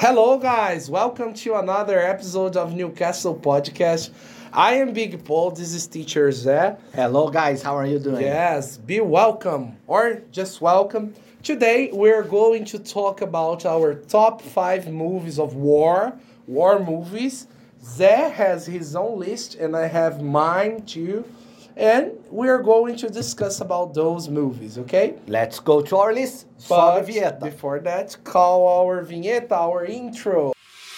Hello, guys. Welcome to another episode of Newcastle Podcast. I am Big Paul. This is Teacher Zé. Hello, guys. How are you doing? Yes, be welcome or just welcome. Today, we're going to talk about our top 5 movies of war movies. Zé has his own list, and I have mine too. And we're going to discuss about those movies, okay? Let's go to our list. But Sobe vinheta. before that, call our vinheta, our intro.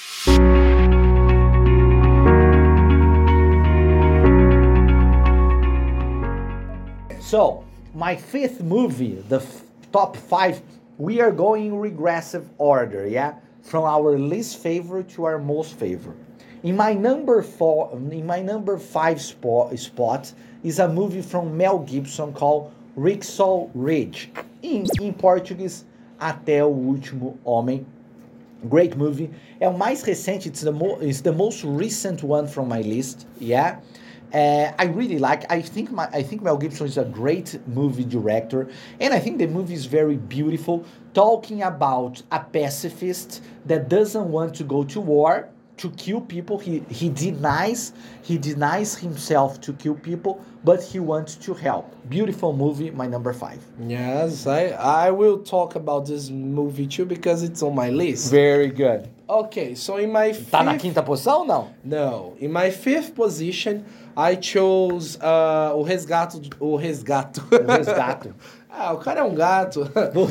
So, my fifth movie, top 5, we are going regressive order, yeah? From our least favorite to our most favorite. In my number 5 spot is a movie from Mel Gibson called Hacksaw Ridge. In Portuguese, Até o Último Homem. Great movie. É o mais recente, it's the most recent one from my list, yeah? I really like. I think Mel Gibson is a great movie director, and I think the movie is very beautiful, talking about a pacifist that doesn't want to go to war to kill people. He denies himself to kill people, but he wants to help. Beautiful movie, my number 5. Yes, I will talk about this movie too because it's on my list. Very good. Okay, so in my fifth... Tá na quinta posição ou não? No, in my 5th position, I chose o Resgato. O Resgato. Ah, o cara é um gato.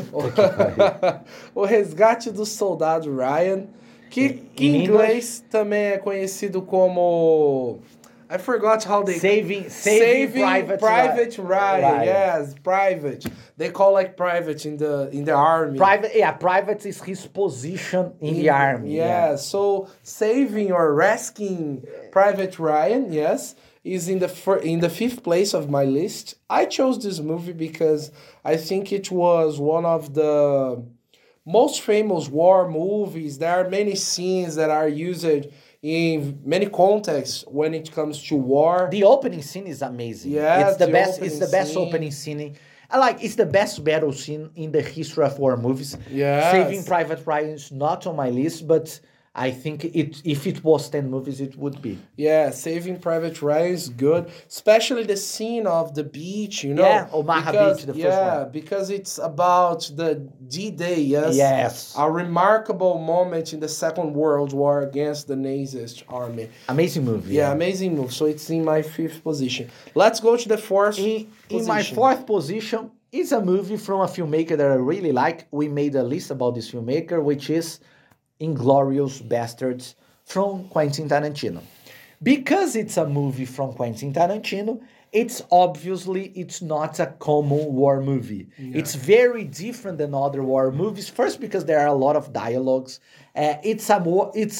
O Resgate do Soldado Ryan, que em inglês também é conhecido como... I forgot how they... Saving Private Ryan. Yes, private. They call like private in the army. Private is his position in the army. Yeah, so saving or rescuing Private Ryan, yes, is in the 5th place of my list. I chose this movie because I think it was one of the most famous war movies. There are many scenes that are used in many contexts when it comes to war. The opening scene is amazing. Yeah, it's the best opening scene. It's the best battle scene in the history of war movies. Yes. Saving Private Ryan is not on my list, but I think if it was 10 movies, it would be. Yeah, Saving Private Ryan is good, especially the scene of the beach, you know. Yeah, Omaha Beach, the first one. Yeah, because it's about the D-Day, yes? Yes. A remarkable moment in the Second World War against the Nazi army. Amazing movie. Yeah, amazing movie. So it's in my 5th position. Let's go to the 4th position. In my 4th position is a movie from a filmmaker that I really like. We made a list about this filmmaker, which is Inglourious Basterds from Quentin Tarantino. Because it's a movie from Quentin Tarantino, it's not a common war movie. Yeah. It's very different than other war movies. First, because there are a lot of dialogues. It's a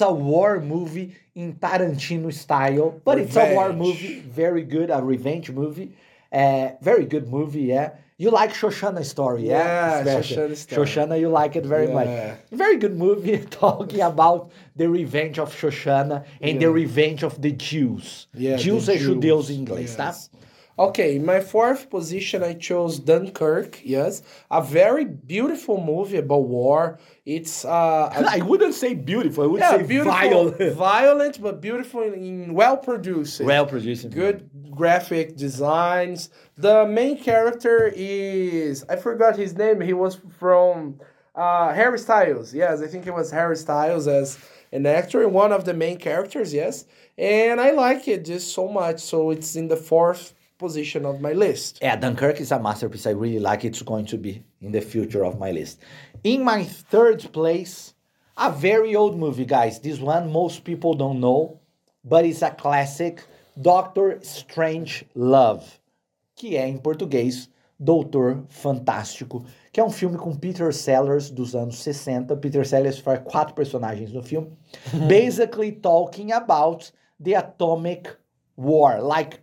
war movie in Tarantino style, but revenge. It's a war movie, very good, a revenge movie. Very good movie, yeah. You like Shoshana Story, yeah? Yeah, Shoshana Story. Shoshana, you like it very much. Very good movie talking about the revenge of Shoshana and the revenge of the Jews. Yeah, Jews é judeus em inglês, tá? Okay, in my 4th position, I chose Dunkirk, yes. A very beautiful movie about war. It's... I wouldn't say beautiful, I would say beautiful, violent. Violent, but beautiful and well-produced. Well-produced. Good graphic designs. The main character is... I forgot his name. He was from Harry Styles. Yes, I think it was Harry Styles as an actor. One of the main characters, yes. And I like it just so much. So it's in the 4th position of my list. Yeah, Dunkirk is a masterpiece. I really like it. It's going to be in the future of my list. In my 3rd place, a very old movie, guys. This one most people don't know, but it's a classic, Doctor Strange Love, que é em português Doutor Fantástico, que é um filme com Peter Sellers dos anos 60. Peter Sellers faz 4 personagens no filme, basically talking about the atomic war, like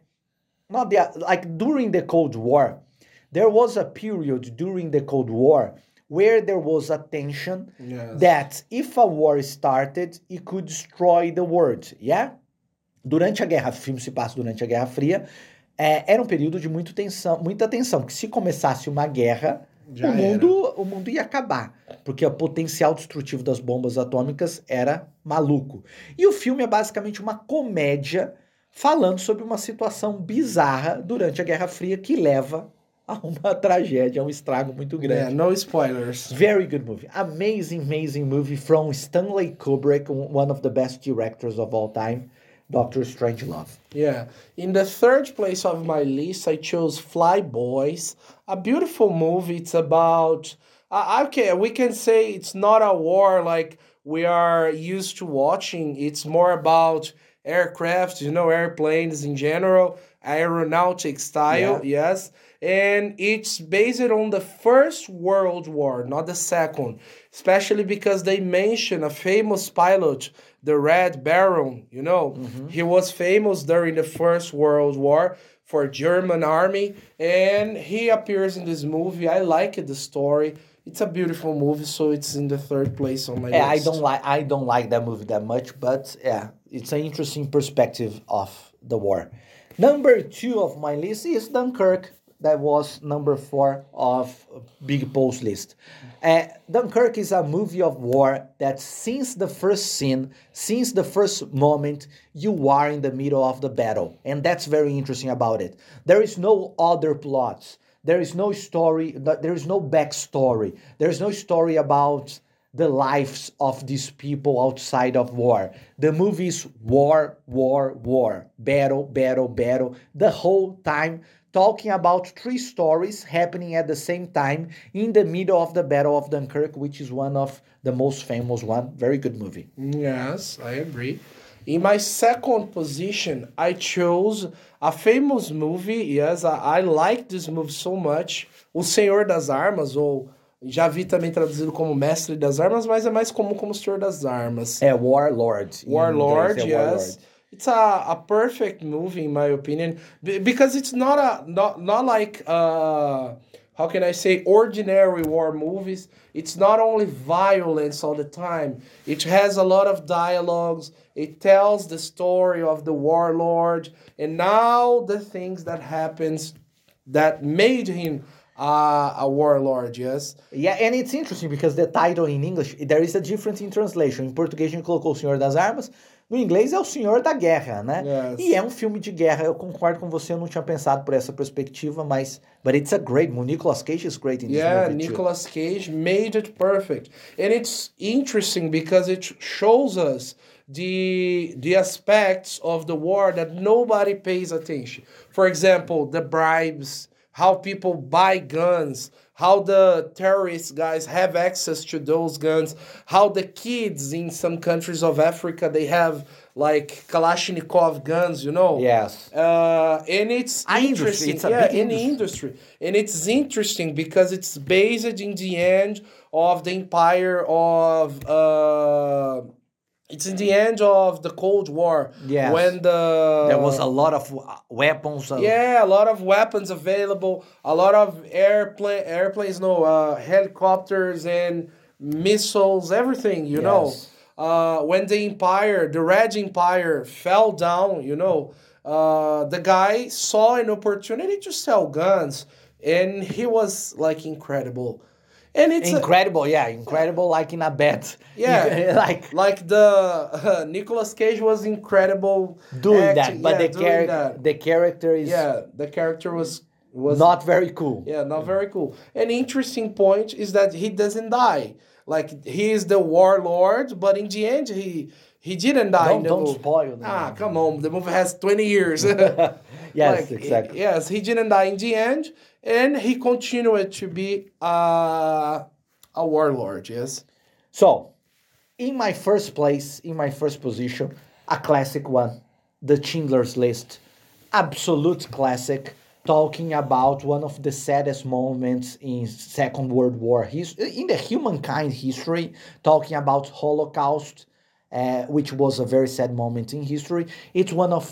during the Cold War. There was a period during the Cold War where there was a tension that if a war started, it could destroy the world, yeah? Durante a Guerra, o filme se passa durante a Guerra Fria, era um período de muita tensão, porque se começasse uma guerra, Já o mundo ia acabar, porque o potencial destrutivo das bombas atômicas era maluco. E o filme é basicamente uma comédia falando sobre uma situação bizarra durante a Guerra Fria que leva a uma tragédia, a um estrago muito Yeah, grande. no spoilers. Very good movie. Amazing movie from Stanley Kubrick, one of the best directors of all time, Doctor Strangelove. Yeah. In the third place of my list, I chose Fly Boys, a beautiful movie. It's about, okay, we can say it's not a war like we are used to watching. It's more about aircraft, airplanes in general, aeronautic style, yes. And it's based on the First World War, not the second, especially because they mention a famous pilot, the Red Baron, He was famous during the First World War for German army, and he appears in this movie. I like the story. It's a beautiful movie, so it's in the third place on my list. I don't like that movie that much, but yeah, it's an interesting perspective of the war. Number 2 of my list is Dunkirk. That was number 4 of Big Paul's list. Dunkirk is a movie of war that since the first scene, since the first moment, you are in the middle of the battle. And that's very interesting about it. There is no other plots. There is no story, there is no backstory. There is no story about the lives of these people outside of war. The movie is war, battle, the whole time, talking about 3 stories happening at the same time in the middle of the Battle of Dunkirk, which is one of the most famous one. Very good movie. Yes, I agree. In my second position, I chose a famous movie. Yes, I like this movie so much. O Senhor das Armas, ou já vi também traduzido como Mestre das Armas, mas é mais comum como Senhor das Armas. Warlord. Warlord, yes. Warlord. It's a perfect movie in my opinion because it's not like how can I say ordinary war movies. It's not only violence all the time. It has a lot of dialogues. It tells the story of the warlord and now the things that happens that made him a warlord, yes. Yeah, and it's interesting because the title in English, there is a difference in translation. Em português a gente colocou O Senhor das Armas, no inglês é O Senhor da Guerra, né? Yes. E é um filme de guerra, eu concordo com você, eu não tinha pensado por essa perspectiva, mas but it's a great movie. Nicolas Cage is great in this movie too. Nicolas Cage made it perfect. And it's interesting because it shows us the aspects of the war that nobody pays attention. For example, the bribes, how people buy guns, how the terrorist guys have access to those guns, how the kids in some countries of Africa, they have like Kalashnikov guns, Yes. And it's interesting. It's a big in the industry. And it's interesting because it's based in the end of the empire of... It's in the end of the Cold War. Yes. When there was a lot of weapons. A lot of weapons available. A lot of airplanes, helicopters and missiles, everything, you know. When the Red Empire fell down, the guy saw an opportunity to sell guns. And he was like incredible. And it's incredible, incredible, like in a bet. Yeah, like the Nicolas Cage was incredible doing acting, that, but the character is the character was not very cool. Yeah, not very cool. An interesting point is that he doesn't die. Like he is the warlord, but in the end he didn't die. Don't spoil. Come on, the movie has 20 years. Yes, exactly. Yes, he didn't die in the end. And he continued to be a warlord, yes. So, in my first position, a classic one, The Schindler's List. Absolute classic, talking about one of the saddest moments in Second World War, in the humankind history, talking about Holocaust, which was a very sad moment in history. It's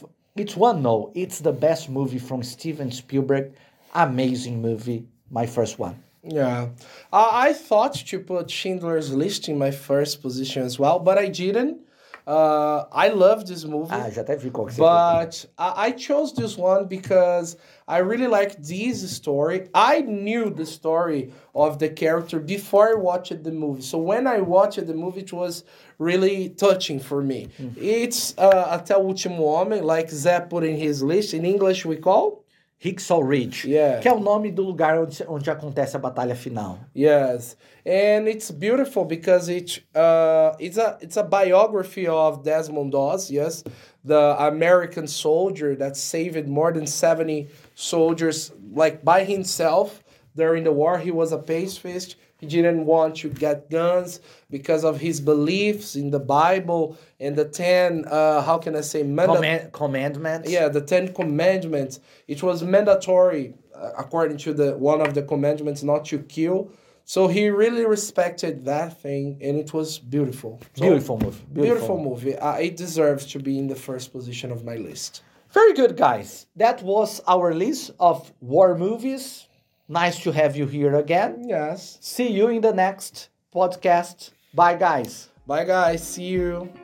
the best movie from Steven Spielberg. Amazing movie, my first one. Yeah, I thought to put Schindler's List in my first position as well, but I didn't I love this movie. Ah, já até vi qual que você foi. But I chose this one because I really like this story. I knew the story of the character before I watched the movie. So when I watched the movie, it was really touching for me. It's Até o Último Homem, like Zé put in his list. In English, we call? Hicksall Ridge, Yeah. que é o nome do lugar onde acontece a batalha final. Yes, and it's beautiful because it's a biography of Desmond Doss. Yes, the American soldier that saved more than 70 soldiers, like by himself during the war. He was a pacifist. He didn't want to get guns because of his beliefs in the Bible and the 10. How can I say? Commandments. Yeah, the 10 commandments. It was mandatory, according to the one of the commandments, not to kill. So he really respected that thing, and it was beautiful. So, Beautiful movie. beautiful movie. It deserves to be in the first position of my list. Very good, guys. That was our list of war movies. Nice to have you here again. Yes. See you in the next podcast. Bye, guys. Bye, guys. See you.